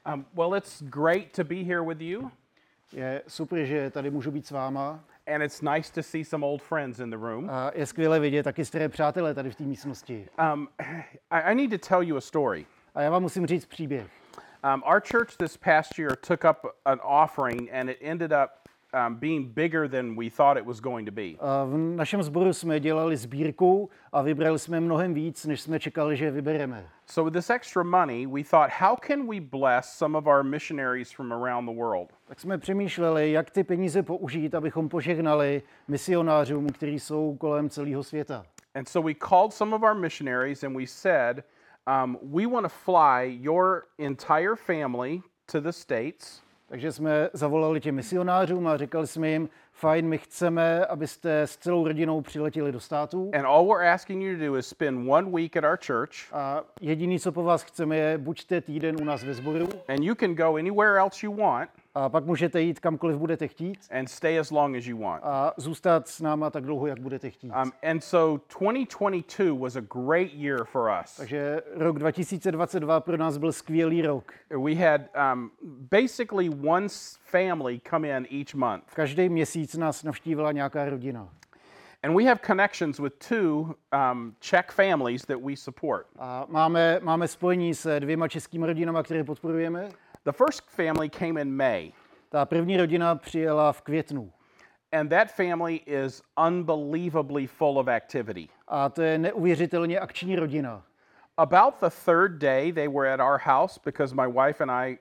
Well, it's great to be here with you, Je super, že tady můžu být s váma. and it's nice to see some old friends in the room. A je skvělé vidět taky staré přátelé tady v té místnosti. I need to tell you a story. A já vám musím říct příběh. Our church this past year took up an offering, and it ended up being bigger than we thought it was going to be. A v našem sboru jsme dělali sbírku a vybrali jsme mnohem víc, než jsme čekali, že vybereme. So with this extra money, we thought, how can we bless some of our missionaries from around the world? Tak jsme přemýšleli, jak ty peníze použít, abychom požehnali misionářům, kteří jsou kolem celého světa. And so we called some of our missionaries and we said, we want to fly your entire family to the States. Takže jsme zavolali těm misionářům a říkali jsme jim, fajn, my chceme, abyste s celou rodinou přiletěli do států. And all we're asking you to do is spend 1 week at our church. A jediný, co po vás chceme, je buďte týden u nás ve sboru. And you can go anywhere else you want A pak můžete jít kamkoliv budete chtít. and stay as long as you want. A zůstat s náma tak dlouho, jak budete chtít. And so 2022 was a great year for us. Takže rok 2022 pro nás byl skvělý rok. We had basically one family come in each month. Každý měsíc nás navštívila nějaká rodina. And we have connections with two Czech families that we support. A máme spojení se 2 českými rodinami, které podporujeme. The first family came in May, Ta první rodina přijela v květnu. and that family is unbelievably full of activity. A to je neuvěřitelně akční rodina. About the third day, they were at our house because my wife and I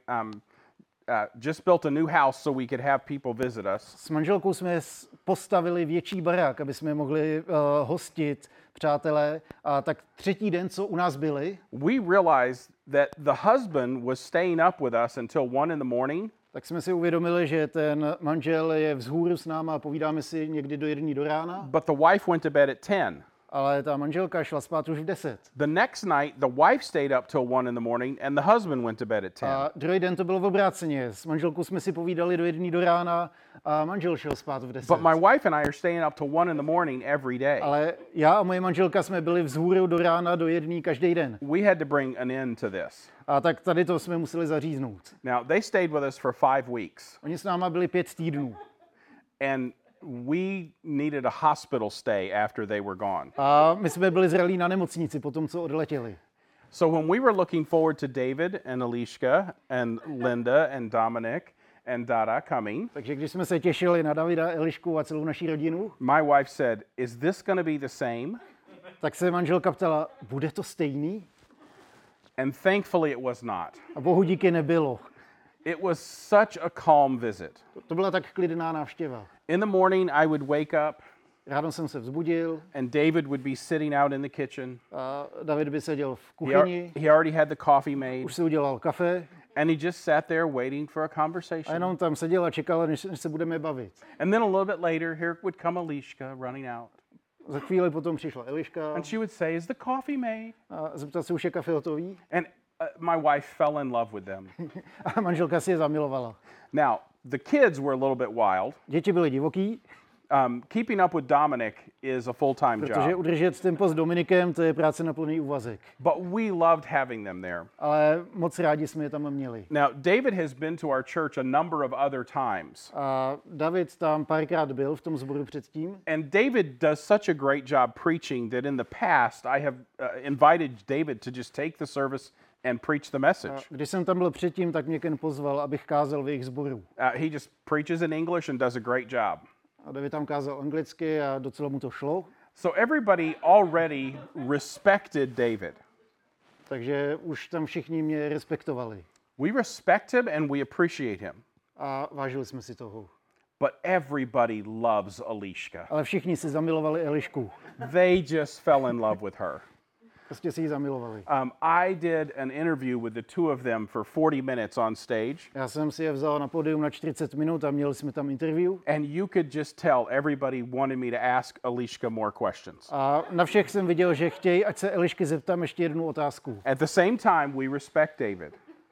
just built a new house so we could have people visit us. S manželkou jsme postavili větší barák, aby jsme mohli hostit přátelé. A tak třetí den, co u nás byli, We realized that the husband was staying up with us until 1 in the morning, tak jsme si uvědomili, že ten manžel je vzhůru s náma a povídáme si někdy do 1 do rána, but the wife went to bed at 10. ale ta manželka šla spát už v 10. The next night, the wife stayed up till 1 in the morning, and the husband went to bed at 10. A druhý den to bylo v obráceně. S manželkou jsme si povídali do 1 do rána a manžel šel spát v 10. But my wife and I are staying up till 1 in the morning every day. Ale já a moje manželka jsme byli vzhůru do rána do 1 každý den. We had to bring an end to this. A tak tady to jsme museli zaříznout. Now, they stayed with us for 5 weeks, Oni s náma byli 5 týdnů. and we needed a hospital stay after they were gone. A my jsme byli zralí na nemocnici po tom, co odletěli. So when we were looking forward to David and Alishka and Linda and Dominic and Dada coming, Takže když jsme se těšili na Davida, Elišku a celou naší rodinu, my wife said, "Is this going to be the same?" tak se manželka ptala, bude to stejný? And thankfully it was not. A bohu díky nebylo. It was such a calm visit. To byla tak klidná návštěva. In the morning I would wake up Ráno jsem se vzbudil and David would be sitting out in the kitchen. a David by seděl v He, kuchyni, he already had the coffee made, už si udělal kafe and he just sat there waiting for a a conversation. jenom tam seděl a čekal, než se budeme bavit. And then a little bit later, here would come Alishka running out. Za chvíli potom přišla Eliška And she would say, "Is the coffee made?" a zeptal se, už je kafe hotový? And my wife fell in love with them. A manželka si je zamilovala. Now, the kids were a little bit wild. Děti byly divoký, Keeping up with Dominic is a full-time protože job, udržet tempo s Dominikem, to je práce na plný úvazek. but we loved having them there. Ale moc rádi jsme je tam měli. Now, David has been to our church a number of other times, A David tam párkrát byl v tom sboru předtím. and David does such a great job preaching that in the past I have invited David to just take the service and preach the message. Když jsem tam byl předtím, tak mě Ken pozval, abych kázal v jejich sboru. He just preaches in English and does a great job. A David tam kázal anglicky a docela mu to šlo. So everybody already respected David. Takže už tam všichni mě respektovali. We respect him and we appreciate him. A vážili jsme si toho. But everybody loves Alishka. Ale všichni si zamilovali Elišku. They just fell in love with her. Prostě si ji zamilovali. I did an interview with the two of them for 40 minutes on stage, Já jsem si je vzal na pódium na 40 minut a měli jsme tam interview. and you could just tell everybody wanted me to ask Alishka more questions. A na všech jsem viděl, že chtějí, ať se Elišky zeptám ještě jednu otázku. At the same time, we respect David.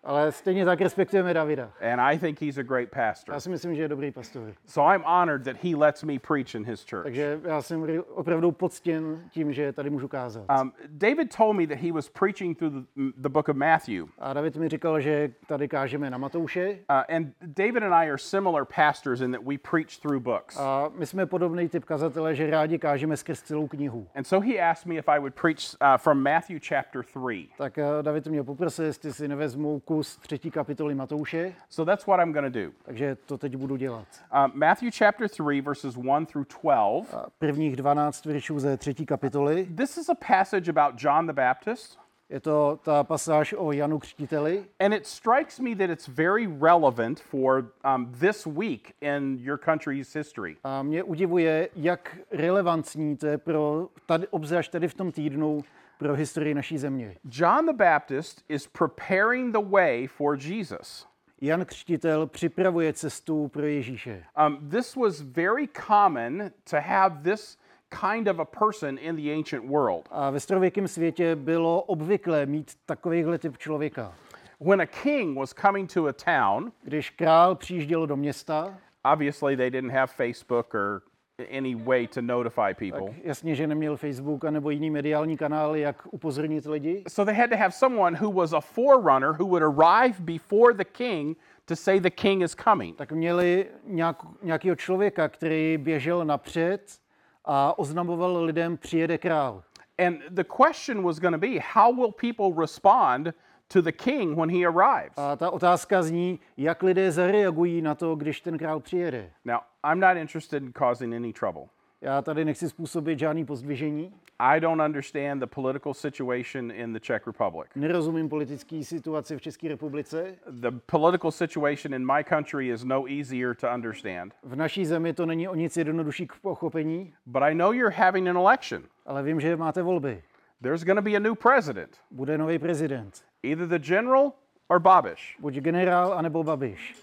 Ale stejně tak respektujeme Davida. and I think he's a great pastor. Já si myslím, že je dobrý pastor. So I'm honored that he lets me preach in his church. Takže já jsem opravdu poctěn tím, že tady můžu kázat. David told me that he was preaching through the book of Matthew. A David mi říkal, že tady kážeme na Matouše. And David and I are similar pastors in that we preach through books. A my jsme podobný typ kazatele, že rádi kážeme skrz celou knihu. And so he asked me if I would preach from Matthew chapter 3. Tak David mě poprosil, jestli si nevezmu kus 3. kapitoly Matouše. So that's what I'm going to do. Takže to teď budu dělat. Matthew chapter 3 verses 1 through 12. Prvních 12 veršů ze 3. kapitoly. This is a passage about John the Baptist. Je to ta pasáž o Janu Křtiteli. And it strikes me that it's very relevant for this week in your country's history. A mě udivuje, jak relevantní to je pro tady, obzvlášť tady v tom týdnu, pro historii naší země. John the Baptist is preparing the way for Jesus. Jan Křtitel připravuje cestu pro Ježíše. This was very common to have this kind of a person in the ancient world. A ve starověkém světě bylo obvyklé mít takovýhle typ člověka. When a king was coming to a town, Když král přijížděl do města, obviously they didn't have Facebook or any way to notify people. jasně, že neměl Facebook anebo jiný mediální kanály, jak upozornit lidi. So they had to have someone who was a forerunner who would arrive before the king to say the king is coming. Tak měli nějakého člověka, který běžel napřed a oznamoval lidem, přijede král. And the question was going to be, how will people respond to the king when he arrives? A ta otázka zní, jak lidé zareagují na to, když ten král přijede. Now, I'm not interested in causing any trouble. Já tady nechci způsobit žádný pozdvižení. I don't understand the political situation in the Czech Republic. Nerozumím politické situaci v České republice. The political situation in my country is no easier to understand. V naší zemi to není o nic jednodušší k pochopení, But I know you're having an election. ale vím, že máte volby. There's going to be a new president, Bude nový prezident. either the general or Babiš. Buď generál, anebo Babiš.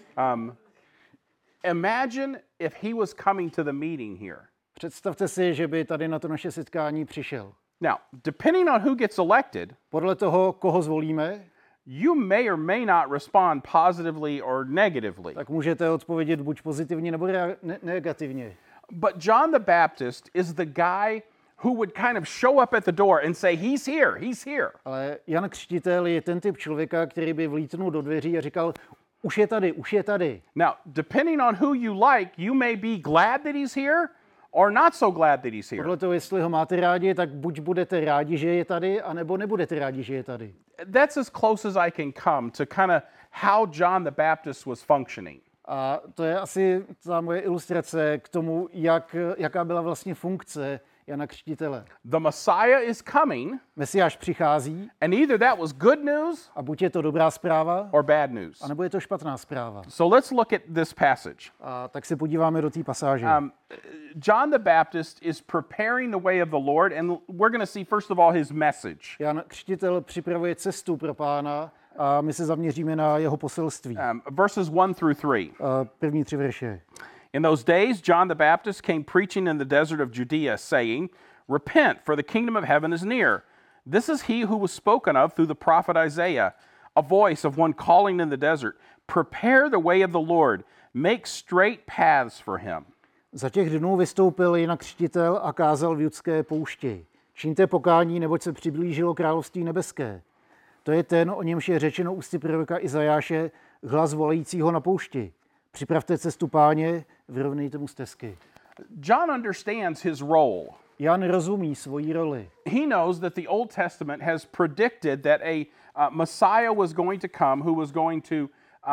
Imagine if he was coming to the meeting here. Představte si, že by tady na to naše setkání přišel. Now, depending on who gets elected, Podle toho, koho zvolíme, you may or may not respond positively or negatively. tak můžete odpovědět buď pozitivně, nebo negativně. But John the Baptist is the guy who would kind of show up at the door and say, he's here, he's here. Ale Jan Křtitel je ten typ člověka, který by vlítnul do dveří a říkal, už je tady, už je tady. Now, depending on who you like, you may be glad that he's here or not so glad that he's here. Podle toho, jestli ho máte rádi, tak buď budete rádi, že je tady, anebo nebudete rádi, že je tady. That's as close as I can come to kind of how John the Baptist was functioning. A to je asi ta moje ilustrace k tomu, jaká byla vlastně funkce Jana Křtitele. The Messiah is coming, Mesiáš přichází and either that was good news a buď je to dobrá zpráva, or bad news. anebo je to špatná zpráva. So let's look at this passage. A tak se podíváme do té pasáže. John the Baptist is preparing the way of the Lord, and we're going to see, first of all, his message. Jan Křtitel připravuje cestu pro Pána a my se zaměříme na jeho poselství. Verses 1 through 3. První 3 verše. In those days, John the Baptist came preaching in the desert of Judea, saying, Repent, for the kingdom of heaven is near. This is he who was spoken of through the prophet Isaiah, a voice of one calling in the desert, Prepare the way of the Lord, make straight paths for him. Za těch dnů vystoupil Jan Křtitel a kázal v judské poušti. Čiňte pokání, neboť se přiblížilo království nebeské. To je ten, o němž je řečeno ústy proroka Izajáše, hlas volajícího na poušti. Připravte cestu Páně, vyrovnejte mu stezky. John understands his role. Jan rozumí svoji roli. He knows that the Old Testament has predicted that a Messiah was going to come who was going to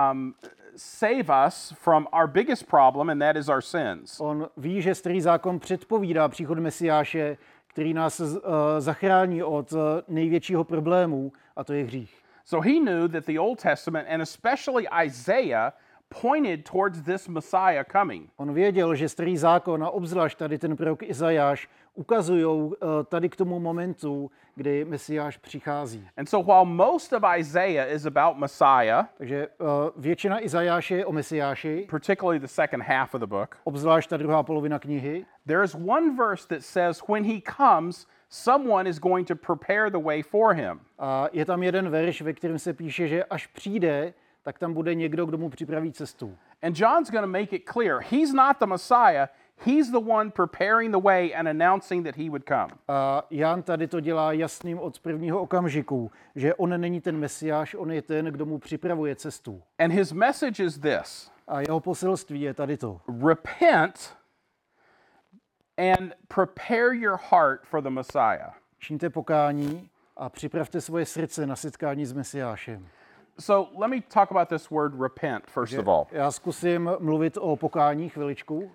save us from our biggest problem, and that is our sins. On ví, že starý zákon předpovídá příchod Mesiáše, který nás zachrání od největšího problému, a to je hřích. So he knew that the Old Testament, and especially Isaiah, pointed towards this Messiah coming. On věděl, že starý zákon a obzvlášť tady ten prorok Izajáš ukazují tady k tomu momentu, kdy Mesiáš přichází. And so while most of Isaiah is about Messiah, Takže většina Izajáše je o Mesiáši, particularly the second half of the book, obzvlášť ta druhá polovina knihy. there is one verse that says, when he comes, someone is going to prepare the way for him. A je tam jeden verš, ve kterém se píše, že až přijde, tak tam bude někdo, kdo mu připraví cestu. And John's going to make it clear, he's not the Messiah, he's the one preparing the way and announcing that he would come. A Jan tady to dělá jasným od prvního okamžiku, že on není ten Mesiáš, on je ten, kdo mu připravuje cestu. And his message is this: A jeho poselství je tady to. repent and prepare your heart for the Messiah. Čiňte pokání a připravte svoje srdce na setkání s Mesiášem. So let me talk about this word repent first of all. Já zkusím mluvit o pokání chviličku.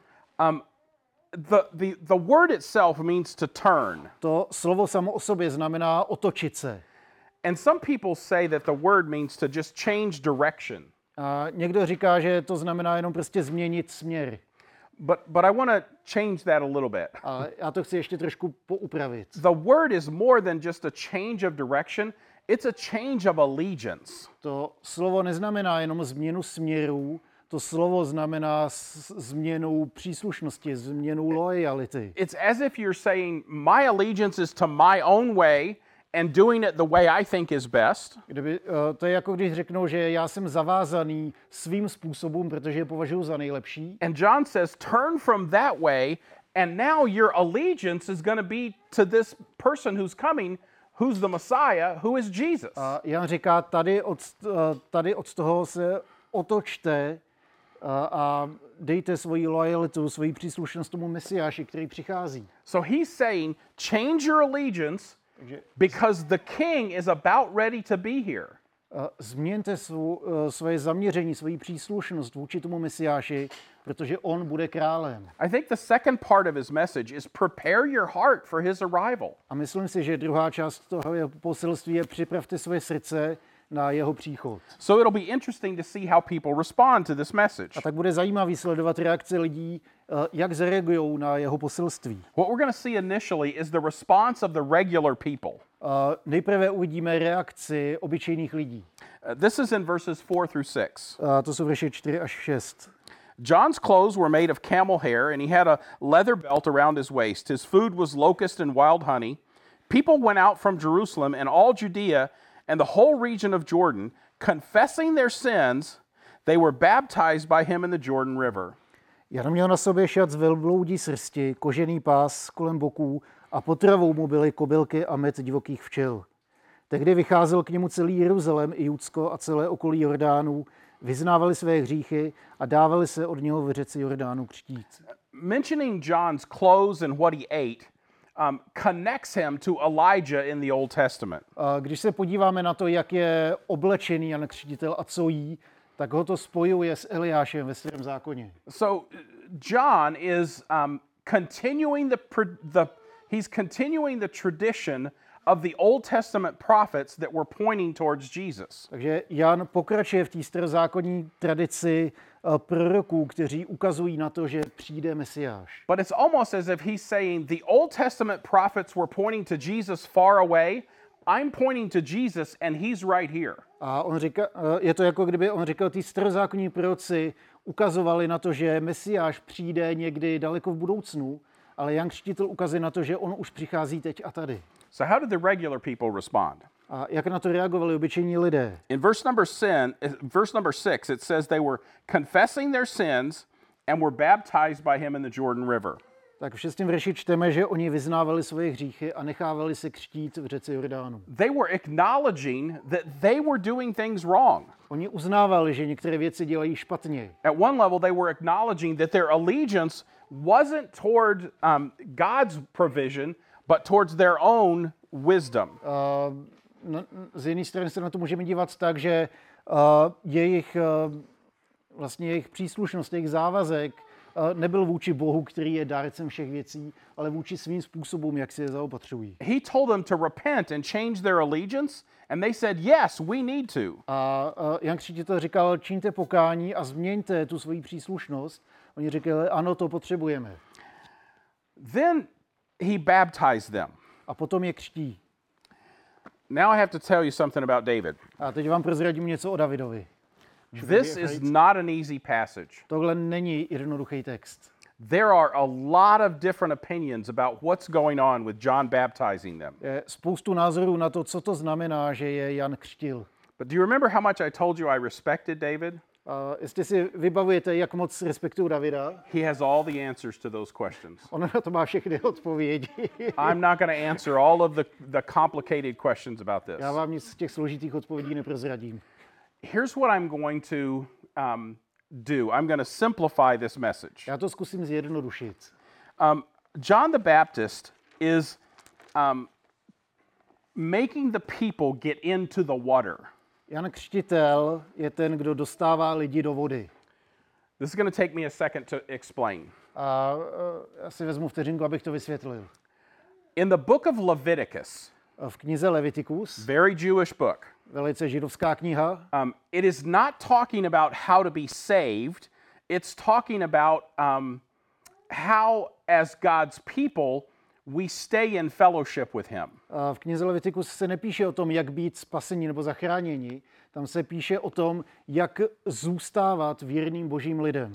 The word itself means to turn. To slovo samo o sobě znamená otočit se. And some people say that the word means to just change direction. A někdo říká, že to znamená jenom prostě změnit směr. But I want to change that a little bit. Ale já to chci ještě trošku poupravit. The word is more than just a change of direction, it's a change of allegiance. To slovo neznamená jenom změnu směrů, to slovo znamená změnu příslušnosti, změnu loyalty. It's as if you're saying, my allegiance is to my own way and doing it the way I think is best. To je jako když řeknou, že já jsem zavázaný svým způsobem, protože je považuji za nejlepší. And John says, turn from that way, and now your allegiance is going to be to this person who's coming, who's the Messiah, who is Jesus. A Jan říká, tady od toho se otočte a dejte svoji lojalitu, svoji příslušnost tomu Mesiáši, který přichází. So he's saying, change your allegiance because the king is about ready to be here. Změňte svoje zaměření, svoji příslušnost vůči tomu Mesiáši, protože on bude králem. I think the second part of his message is prepare your heart for his arrival. A myslím si, že druhá část toho jeho poselství je připravte svoje srdce na jeho příchod. So it'll be interesting to see how people respond to this message. A tak bude zajímavý sledovat reakce lidí, jak zareagují na jeho poselství. What we're going to see initially is the response of the regular people. Nejprve uvidíme reakci obyčejných lidí. This is in verses 4 through 6. To jsou verše 4 až 6. John's clothes were made of camel hair, and he had a leather belt around his waist. His food was locust and wild honey. People went out from Jerusalem and all Judea and the whole region of Jordan, confessing their sins. They were baptized by him in the Jordan River. Jan měl na sobě šat z velbloudí srsti, kožený pás kolem boků a potravou mu byly kobylky a med divokých včel. Tehdy vycházel k němu celý Jeruzalém i Judsko a celé okolí Jordánu, vyznávali své hříchy a dávali se od něho v řece Jordánu křtít. Mentioning John's clothes and what he ate connects him to Elijah in the Old Testament. Když se podíváme na to, jak je oblečený Jan Křtitel a co jí, tak ho to spojuje s Eliášem ve Starém zákoně. So John is continuing the tradition of the Old Testament prophets that were pointing towards Jesus. Takže Jan pokračuje v té starozákonní tradici proroků, kteří ukazují na to, že přijde Mesiáš. But it's almost as if he's saying the Old Testament prophets were pointing to Jesus far away. I'm pointing to Jesus and he's right here. A on říká, je to jako kdyby on říkal, ty starozákonní proroci ukazovali na to, že Mesiáš přijde někdy daleko v budoucnu, ale Jan Křtitel ukazuje na to, že on už přichází teď a tady. So how did the regular people respond? A jak na to reagovali obyčejní lidé? In verse number 6, it says they were confessing their sins and were baptized by him in the Jordan River. Tak v 6. verši čteme, že oni vyznávali svoje hříchy a nechávali se křtít v řece Jordánu. They were acknowledging that they were doing things wrong. Oni uznávali, že některé věci dělají špatně. At one level, they were acknowledging that their allegiance wasn't toward God's provision, but towards their own wisdom. Z jedné strany se na to můžeme dívat tak, že jejich příslušnost, jejich závazek nebyl vůči Bohu, který je dárcem všech věcí, ale vůči svým způsobům, jak si je zaopatřují. He told them to repent and change their allegiance, and they said, yes, we need to. A Jan Křtitel říkal, čiňte pokání a změňte tu svoji příslušnost. Oni říkali, ano, to potřebujeme. Then he baptized them. A potom je křtí. Now I have to tell you something about David. A teď vám prozradím něco o Davidovi. This is not an easy passage. Tohle není jednoduchý text. there are a lot of different opinions about what's going on with John baptizing them. Je spoustu názorů na to, co to znamená, že je Jan křtil. But do you remember how much I told you I respected David? A jestli si vybavujete, jak moc respektuju Davida, He has all the answers to those questions. on na to má všechny odpovědi. I'm not going to answer all of the complicated questions about this. Já vám nic z těch složitých odpovědí neprozradím. Here's what I'm going to do. I'm going to simplify this message. Já to zkusím zjednodušit. John the Baptist is making the people get into the water. Jan Křtitel je ten, kdo dostává lidi do vody. This is going to take me a second to explain. A já si vezmu vteřinku, abych to vysvětlil. In the book of Leviticus, V knize Leviticus, very Jewish book, velice židovská kniha, it is not talking about how to be saved. It's talking about how, as God's people, we stay in fellowship with Him. v knize Leviticus se nepíše o tom, jak být spaseni nebo zachráněni. Tam se píše o tom, jak zůstávat věrným božím lidem.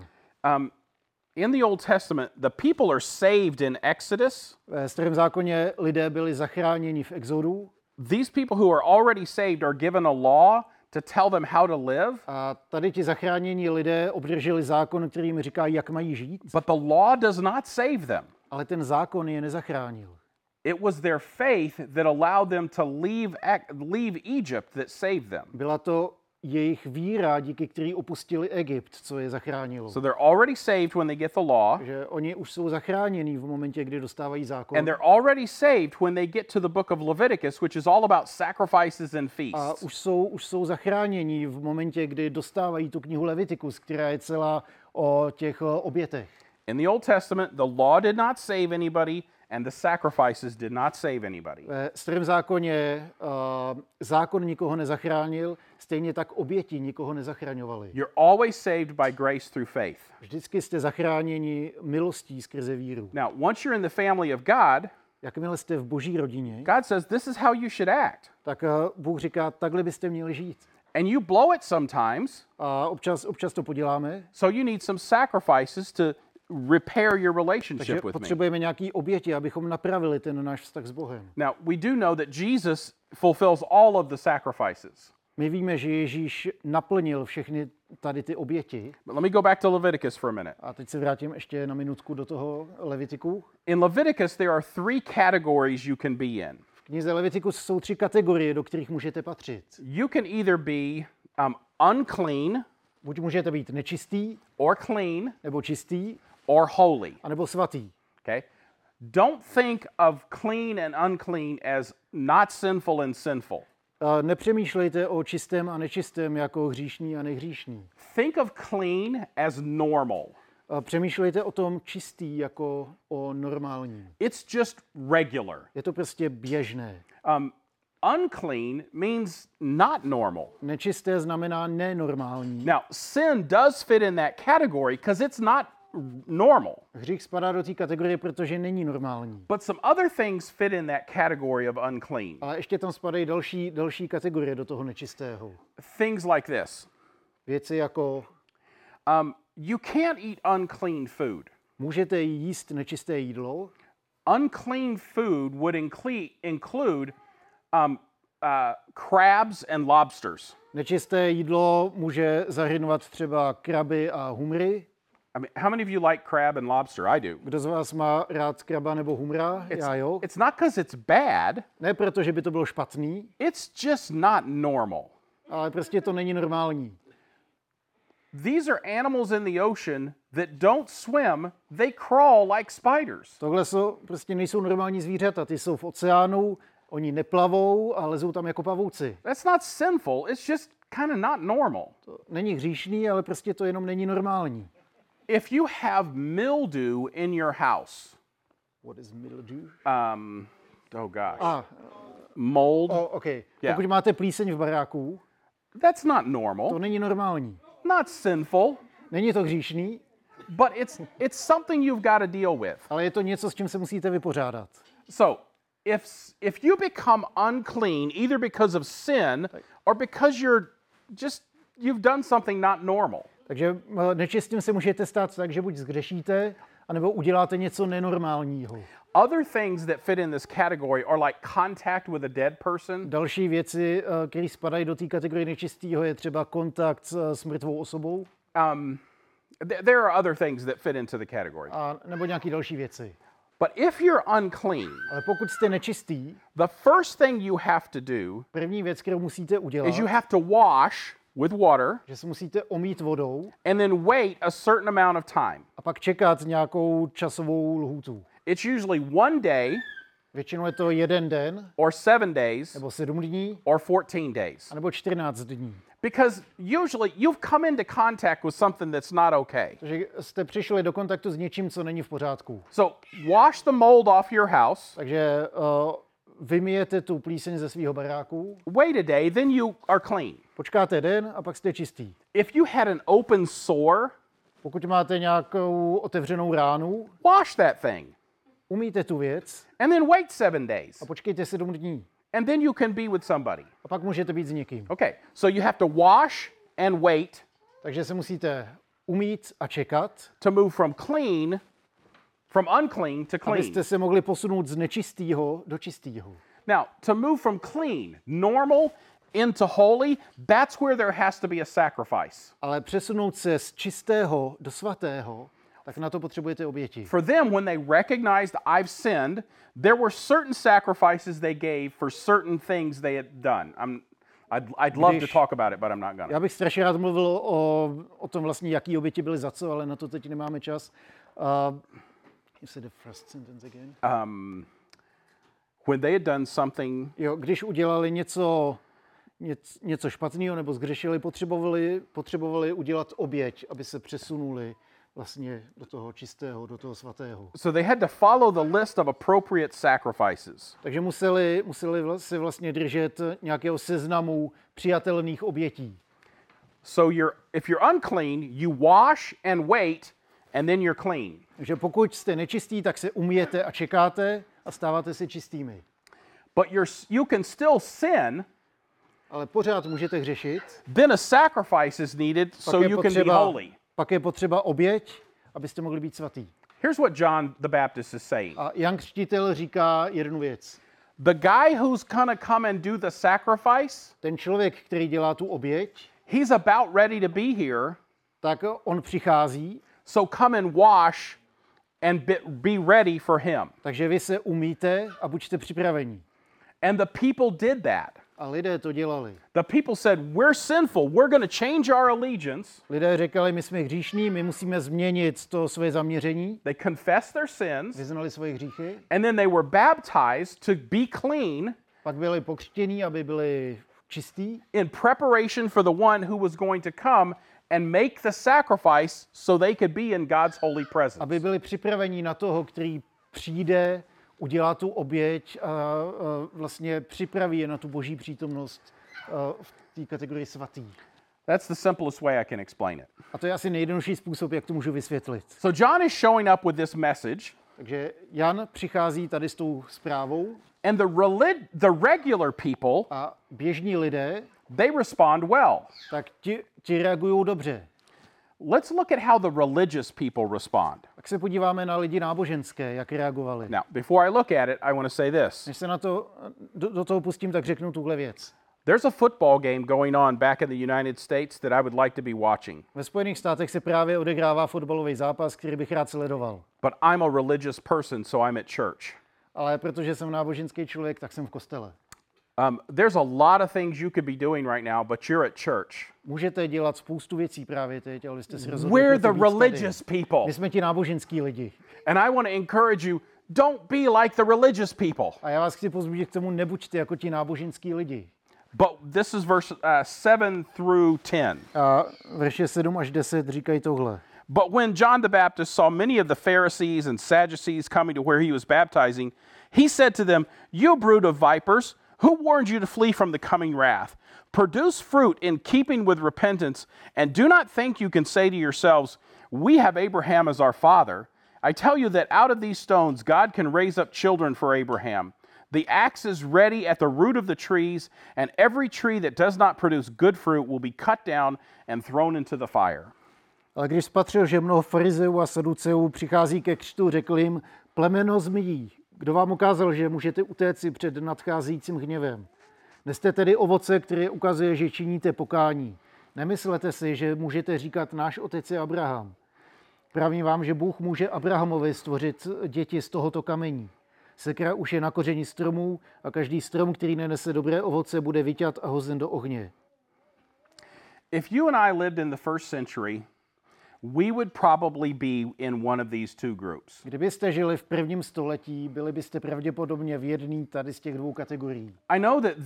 In the Old Testament, the people are saved in Exodus. Ve Starém zákoně lidé byli zachráněni v Exodu These people who are already saved are given a law to tell them how to live, a tady ti zachránění lidé obdrželi zákon, který jim říká, jak mají žít, but the law does not save them. ale ten zákon je nezachránil. It was their faith that allowed them to leave Egypt that saved them. Byla to jejich víra, díky který opustili Egypt, co je zachránilo. So they're already saved when they get the law, Že oni už jsou zachráněni v momentě, kdy dostávají zákon. and they're already saved when they get to the book of Leviticus, which is all about sacrifices and A feasts. už jsou zachráněni v momentě, kdy dostávají tu knihu Leviticus, která je celá o těch obětech. In the Old Testament, the law did not save anybody, and the sacrifices did not save anybody. Ve Starém zákoně zákon nikoho nezachránil, stejně tak oběti nikoho nezachraňovaly. You're always saved by grace through faith. Vždycky jste zachráněni milostí skrze víru. Now, once you're in the family of God, Jakmile jste v boží rodině, God says this is how you should act. tak Bůh říká, takhle byste měli žít. And you blow it sometimes, A občas to poděláme, so you need some sacrifices to repair your relationship takže with me. potřebujeme nějaký oběti, abychom napravili ten náš vztah s Bohem. Now, we do know that Jesus fulfills all of the sacrifices. My víme, že Ježíš naplnil všechny tady ty oběti. But let me go back to Leviticus for a minute. A teď se vrátím ještě na minutku do toho Levitiku. In Leviticus, there are 3 categories you can be in. V knize Levitikus jsou 3 kategorie, do kterých můžete patřit. You can either be unclean Buď můžete být nečistý, or clean nebo čistý, or holy. anebo svatý. Okay? Don't think of clean and unclean as not sinful and sinful. Nepřemýšlejte o čistém a nečistém jako hříšný a nehříšný. Think of clean as normal. Přemýšlejte o tom čistý jako o normálním. It's just regular. Je to prostě běžné. Unclean means not normal. Nečisté znamená nenormální. Now, sin does fit in that category because it's not normal. Hřích spadá do té kategorie, protože není normální. But some other things fit in that category of unclean. Ale ještě tam spadají další kategorie do toho nečistého. Things like this. Věci jako You can't eat unclean food. můžete jíst nečisté jídlo. Unclean food would include crabs and lobsters. Nečisté jídlo může zahrnovat třeba kraby a humry. I mean, how many of you like crab and lobster? I do. Kdo z vás má rád kraba nebo humra? Já jo. It's not because it's bad. Ne proto, že by to bylo špatný, It's just not normal. ale prostě to není normální. These are animals in the ocean that don't swim, they crawl like spiders. Tohle prostě nejsou normální zvířata, ty jsou v oceánu, oni neplavou a lezou tam jako pavouci. That's not sinful, it's just kind of not normal. To není hříšný, ale prostě to jenom není normální. If you have mildew in your house, What is mildew? oh gosh, Ah, mold, okay. Yeah. Pokud máte plíseň v baráku, that's not to normal, není normální. not sinful, Není to hříšný, but it's something you've got to deal with. ale je to něco, s čím se musíte vypořádat. So, if you become unclean either because of sin or because you've done something not normal, Takže nečistým se můžete stát tak, že buď zhřešíte, anebo uděláte něco nenormálního. Other things that fit in this category are like contact with a dead person, Další věci, které spadají do té kategorie nečistého, je třeba kontakt s mrtvou osobou, there are other things that fit into the category. a nebo nějaké další věci. But if you're unclean, Ale pokud jste nečistý, the first thing you have to do první věc, kterou musíte udělat, is you have to wash with water že se musíte omýt vodou and then wait a certain amount of time. a pak čekat nějakou časovou lhůtu. It's usually 1 day Většinou je to 1 den, or 7 days nebo 7 dní, or 14 days. anebo 14 dní. Because usually you've come into contact with something that's not okay. Takže jste přišli do kontaktu s něčím, co není v pořádku. So wash the mold off your house, Takže vymijete tu plíseň ze svého baráku, wait a day, then you are clean. počkáte den a pak jste čistý. If you had an open sore, Pokud máte nějakou otevřenou ránu, wash that thing umýjte tu věc and then wait 7 days. a počkejte 7 dní. And then you can be with somebody. A pak můžete být s někým. Okay, so you have to wash and wait Takže se musíte umýt a čekat, to move from unclean to clean. abyste se mohli posunout z nečistého do čistého. Now, to move from clean, normal, into holy, that's where there has to be a sacrifice. Ale přesunout se z čistého do svatého, tak na to potřebujete oběti. For them, when they recognized I've sinned, there were certain sacrifices they gave for certain things they had done. I'd love to Když- talk about it, but I'm not gonna. Já bych strašně rád mluvil o tom vlastně, jaký oběti byly za co, ale na to teď nemáme čas. You said the first sentence again. When they had done something, Jo, když udělali něco špatného nebo zgřešili, potřebovali udělat oběť, aby se přesunuli vlastně do toho čistého, do toho svatého. so they had to follow the list of appropriate sacrifices. Takže museli si vlastně držet nějakého seznamu přijatelných obětí. So if you're unclean, you wash and wait, and then you're clean. Takže pokud jste nečistí, tak se umyjete a čekáte a stáváte se čistými. But you can still sin, Ale pořád můžete hřešit. then a sacrifice is needed so you can be holy. Pak je potřeba oběť, abyste mohli být svatý. Here's what John the Baptist is saying. A Jan Křtitel říká jednu věc. The guy who's gonna come and do the sacrifice, Ten člověk, který dělá tu oběť, he's about ready to be here, tak on přichází, so come and wash and be ready for him. takže vy se umíte a buďte připraveni. And the people did that. A lidé to dělali. The people said, we're sinful, we're gonna change our allegiance. Lidé říkali, my jsme hříšní, my musíme změnit to své zaměření, They confessed their sins, vyznali svoje hříchy, and then they were baptized to be clean pak byli pokřtění, aby byli čistí, in preparation for the one who was going to come and make the sacrifice so they could be in God's holy presence. aby byli připraveni na toho, který přijde, udělá tu oběť a vlastně připraví je na tu boží přítomnost v té kategorii svatý. That's the simplest way I can explain it. A to je asi nejjednodušší způsob, jak to můžu vysvětlit. So John is showing up with this message, Takže Jan přichází tady s tou zprávou and the regular people, a běžní lidé, they respond well. tak ti reagují dobře. Let's look at how the religious people respond. Tak se podíváme na lidi náboženské, jak reagovali. Now, before I look at it, I want to say this. Než se na to, do toho pustím, tak řeknu tuhle věc. There's a football game going on back in the United States that I would like to be watching, Ve Spojených státech se právě odehrává fotbalový zápas, který bych rád sledoval. but I'm a religious person, so I'm at church. Ale protože jsem náboženský člověk, tak jsem v kostele. There's a lot of things you could be doing right now, but you're at church. Můžete dělat spoustu věcí právě teď, ale jste si rozhodli We're pro to the být tady. religious people. My jsme ti náboženský lidi. And I want to encourage you, don't be like the religious people. A já vás chci povzbudit k tomu, nebuďte jako ti náboženský lidi. But this is verse 7 through 10. A verše 7 až 10 říkají tohle. But when John the Baptist saw many of the Pharisees and Sadducees coming to where he was baptizing, he said to them, "You brood of vipers, who warned you to flee from the coming wrath? Produce fruit in keeping with repentance, and do not think you can say to yourselves, 'We have Abraham as our father.' I tell you that out of these stones God can raise up children for Abraham. The axe is ready at the root of the trees, and every tree that does not produce good fruit will be cut down and thrown into the fire." Ale když spatřil, že mnoho farizeů a saduceů přichází ke křtu, řekl jim, plemeno zmijí, kdo vám ukázal, že můžete utéci před nadcházejícím hněvem? Neste tedy ovoce, které ukazuje, že činíte pokání. Nemyslete si, že můžete říkat, náš otec je Abraham. Pravím vám, že Bůh může Abrahamovi stvořit děti z tohoto kamení. Sekra už je na kořeni stromů a každý strom, který nenese dobré ovoce, bude vyťat a hozen do ohně. If you and I lived in the first century, we would probably be in one of these two groups. Kdybyste žili v prvním století, byli byste pravděpodobně v jedné tady z těch dvou kategorií. I know that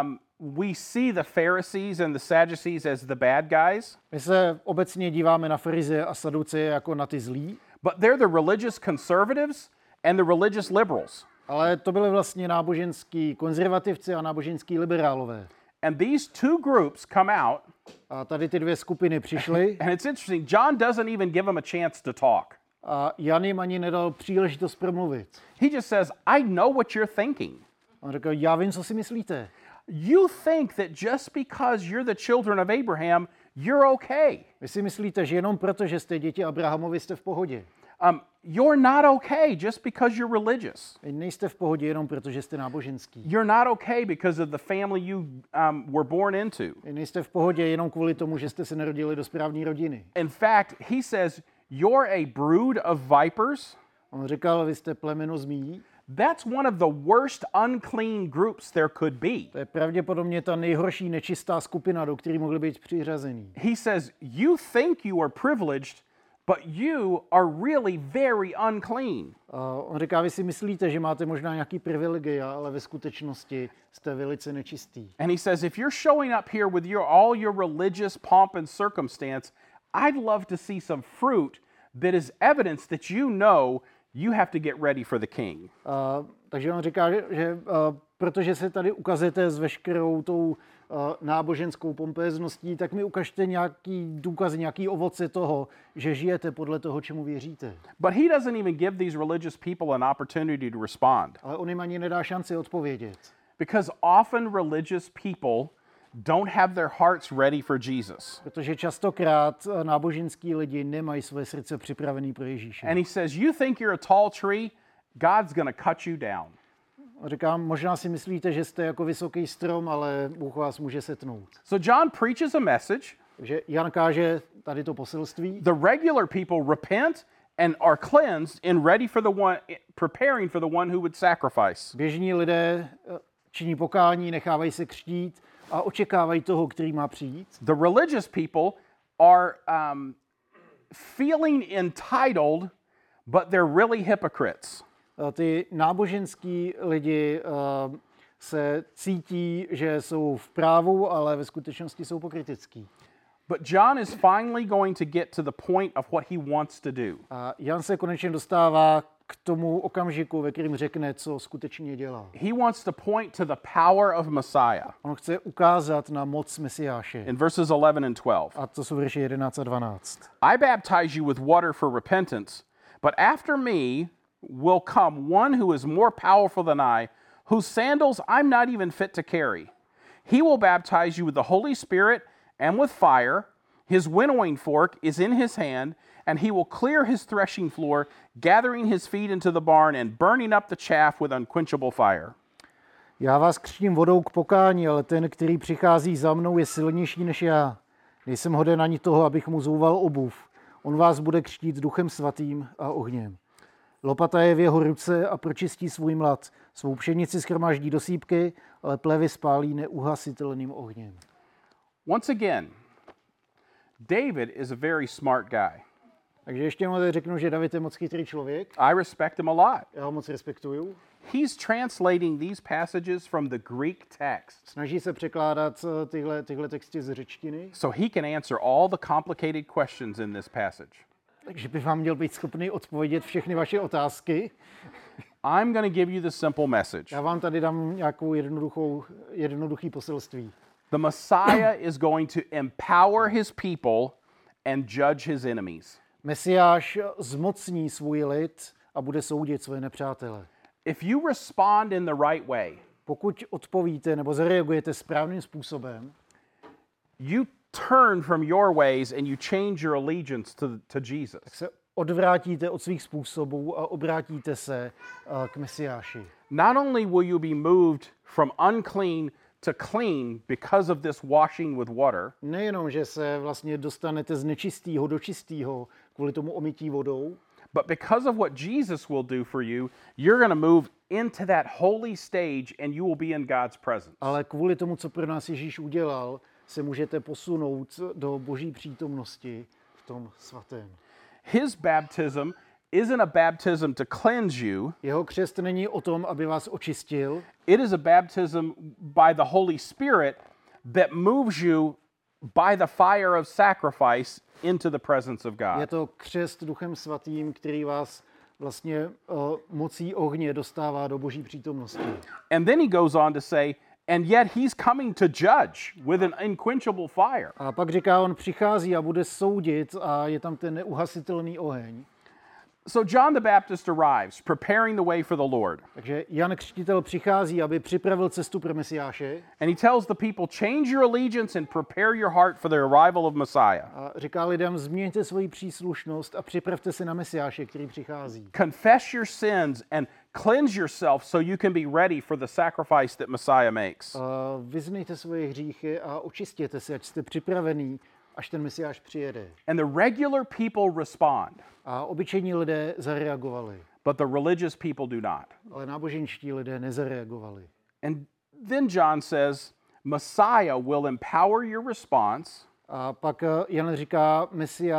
we see the Pharisees and the Sadducees as the bad guys, My se obecně díváme na farizeje a saduceje jako na ty zlí, but they're the religious conservatives and the religious liberals. ale to byli vlastně náboženský konzervativci a náboženský liberálové. And these two groups come out, A tady ty dvě skupiny přišly and it's interesting, John doesn't even give them a chance to talk. a Jan jim ani nedal příležitost promluvit. He just says, I know what you're thinking. On řekl, já vím, co si myslíte. You think that just because you're the children of Abraham, you're okay. Vy si myslíte, že jenom proto, že jste děti Abrahamovi, jste v pohodě. You're not okay just because you're religious. Vy nejste v pohodě jenom proto, že jste náboženský. You're not okay because of the family you were born into. Vy nejste v pohodě jenom kvůli tomu, že jste se narodili do správné rodiny. In fact, he says, you're a brood of vipers. On říkal, vy jste plemeno zmí. That's one of the worst unclean groups there could be. To je pravděpodobně ta nejhorší nečistá skupina, do které mohli být přiřazený. He says, you think you are privileged, but you are really very unclean. On říká, vy si myslíte, že máte možná nějaký privilegia, ale ve skutečnosti jste velice nečistý. And he says, if you're showing up here with all your religious pomp and circumstance, I'd love to see some fruit that is evidence that you know you have to get ready for the king. Takže on říká, že protože se tady ukazujete s veškerou tou náboženskou pompézností, tak mi ukažte nějaký důkaz, nějaký ovoce toho, že žijete podle toho, čemu věříte. But he doesn't even give these religious people an opportunity to respond. Ale on jim ani nedá šanci odpovědět. Because often religious people don't have their hearts ready for Jesus. Protože častokrát náboženský lidi nemají své srdce připravené pro Ježíše. And he says, you think you're a tall tree, God's going to cut you down. Říkám, možná si myslíte, že jste jako vysoký strom, ale Bůh vás může setnout. So John preaches a message. Takže Jan káže tady to poselství. The regular people repent and are cleansed and ready for the one, preparing for the one who would sacrifice. Běžní lidé činí pokání, nechávají se křtít a očekávají toho, který má přijít. The religious people are feeling entitled, but they're really hypocrites. Ty náboženský lidi se cítí, že jsou v právu, ale ve skutečnosti jsou pokrytecký. But John is finally going to get to the point of what he wants to do. A Jan se konečně dostává k tomu okamžiku, ve kterém řekne, co skutečně dělá. He wants to point to the power of Messiah. On chce ukázat na moc Mesiáše. In verses 11 and 12. A to jsou verše 11 a 12. I baptize you with water for repentance, but after me will come one who is more powerful than I, whose sandals I'm not even fit to carry. He will baptize you with the Holy Spirit and with fire. His winnowing fork is in his hand, and he will clear his threshing floor, gathering his feet into the barn and burning up the chaff with unquenchable fire. Já vás křtím vodou k pokání, ale ten, který přichází za mnou, je silnější než já. Nejsem hoden ani toho, abych mu zouval obuv. On vás bude křtít Duchem Svatým a ohněm. Lopata je v jeho ruce a pročistí svůj mlad. Svou pšenici shromáždí do sýpky, ale plevy spálí neuhasitelným ohněm. Once again, David is a very smart guy. Takže ještě jednou řeknu, že David je moc chytrý člověk. I respect him a lot. Já ho moc respektuju. He's translating these passages from the Greek text Snaží se překládat tyhle texty z řečtiny, so he can answer all the complicated questions in this passage. takže by vám měl být schopný odpovědět všechny vaše otázky. I'm going to give you the simple message. Já vám tady dám nějakou jednoduchý poselství. The Messiah is going to empower his people and judge his enemies. Mesiáš zmocní svůj lid a bude soudit své nepřátele. If you respond in the right way, Pokud odpovíte nebo zareagujete správným způsobem, you turn from your ways and you change your allegiance to Jesus. se odvrátíte od svých způsobů a obrátíte se k Mesiáši. Not only will you be moved from unclean to clean because of this washing with water, Nejenom, že se vlastně dostanete z nečistého do čistého kvůli tomu omytí vodou, but because of what Jesus will do for you, you're going to move into that holy stage and you will be in God's presence. ale kvůli tomu, co pro nás Ježíš udělal, se můžete posunout do Boží přítomnosti v tom svatém. His baptism isn't a baptism to cleanse you. Jeho křest není o tom, aby vás očistil, It is a baptism by the Holy Spirit that moves you by the fire of sacrifice into the presence of je God. to křest Duchem Svatým, který vás vlastně mocí ohně dostává do Boží přítomnosti. And then he goes on to say, and yet he's coming to judge with an unquenchable fire. A pak říká, on přichází a bude soudit a je tam ten neuhasitelný oheň. So John the Baptist arrives, preparing the way for the Lord. Takže Jan Křtitel přichází, aby připravil cestu pro Mesiáše And he tells the people, change your allegiance and prepare your heart for the arrival of Messiah. a říká lidem, změňte svoji příslušnost a připravte se na Mesiáše, který přichází. Confess your sins and cleanse yourself so you can be ready for the sacrifice that Messiah makes. A vyznejte svoje hříchy a očistěte se, ať jste připravení, až ten Mesiáš přijede. And the regular people respond, A obyčejní lidé zareagovali, but the religious people do not. ale náboženští lidé nezareagovali. And then John says, Messiah will empower your response A pak Jan říká,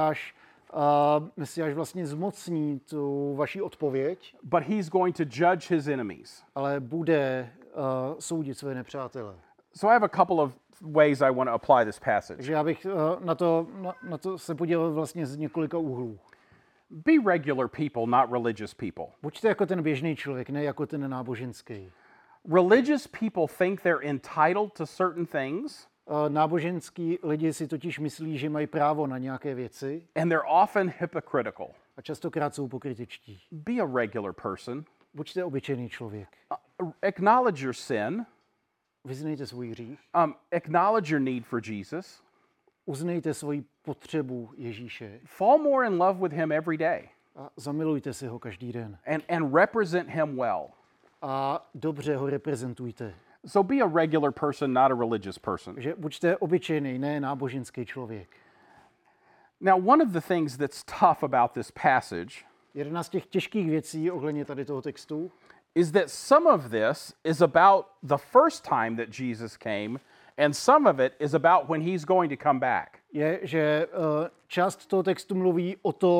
Mesiáš vlastně zmocní tu vaši odpověď, but he's going to judge his enemies. ale bude soudit své nepřátele. So I have a couple of ways I want to apply this passage. Takže já bych na to se podíval vlastně z několika úhlů. Be regular people, not religious people. Buďte jako ten běžný člověk, ne jako ten náboženský. Religious people think they're entitled to certain things, Náboženský lidi si totiž myslí, že mají právo na nějaké věci and they're often hypocritical. a častokrát jsou pokrytečtí. Be a regular person. Buďte obyčejný člověk. Acknowledge your sin. Vyznejte svůj hřích. Acknowledge your need for Jesus. Uznejte svoji potřebu Ježíše Fall more in love with him every day a zamilujte si ho každý den. and represent him well. A dobře ho reprezentujte. So be a regular person, not a religious person. Takže buďte obyčejný, ne náboženský člověk. Now, one of the things that's tough about this passage Jedna z těch těžkých věcí ohledně tady toho textu is that some of this is about the first time that Jesus came, and some of it is about when he's going to come back. je, že část toho textu mluví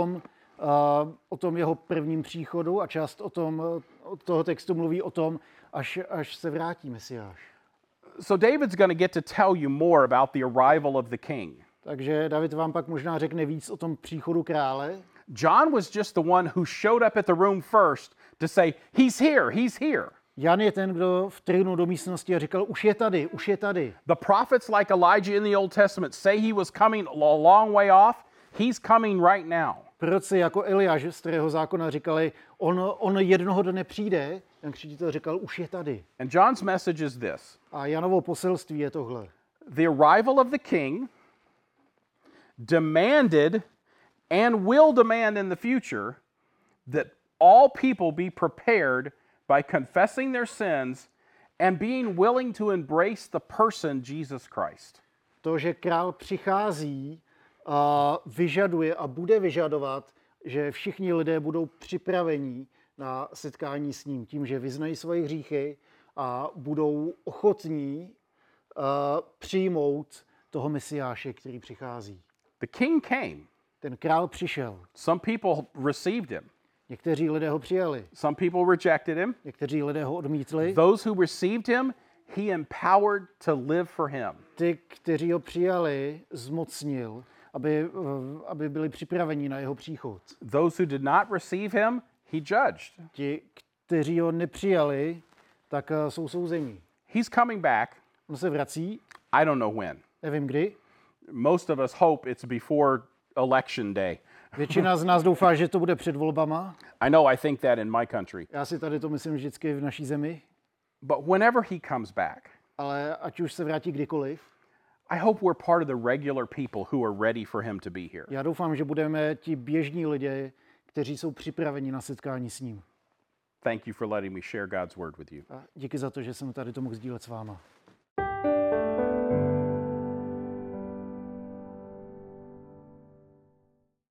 o tom jeho prvním příchodu a část toho textu mluví o tom, až se vrátí Mesiáš. So David's going to get to tell you more about the arrival of the king. Takže David vám pak možná řekne víc o tom příchodu krále. John was just the one who showed up at the room first to say, he's here, he's here. Jan je ten, kdo vtrhnul do místnosti a říkal, už je tady, už je tady. The prophets like Elijah in the Old Testament say he was coming a long way off. He's coming right now. Proroci jako Eliáš z Starého zákona říkali, on jednoho dne přijde, Jan Křtitel říkal, už je tady. And John's message is this. A Janovo poselství je tohle. The arrival of the king demanded and will demand in the future that all people be prepared by confessing their sins and being willing to embrace the person Jesus Christ. To, že král přichází, vyžaduje a bude vyžadovat, že všichni lidé budou připraveni na setkání s ním tím, že vyznají svoje hříchy a budou ochotní přijmout toho Mesiáše, který přichází. The king came. Ten král přišel. Some people received him. Někteří lidé ho přijali, Some people rejected him. někteří lidé ho odmítli. Those who received him, he empowered to live for him. Ty, kteří ho přijali, zmocnil, aby byli připraveni na jeho příchod. Those who did not receive him, he judged. Ti, kteří ho nepřijali, tak jsou souzeni. He's coming back. On se vrací, I don't know when. nevím kdy. Most of us hope it's before election day. Většina z nás doufá, že to bude před volbama. I know I think that in my country. Já si tady to myslím vždycky v naší zemi. But whenever he comes back, Ale ať už se vrátí kdykoliv, I hope we're part of the regular people who are ready for him to be here. Já doufám, že budeme ti běžní lidé, kteří jsou připraveni na setkání s ním. Thank you for letting me share God's word with you. A díky za to, že jsem tady to mohl sdílet s váma.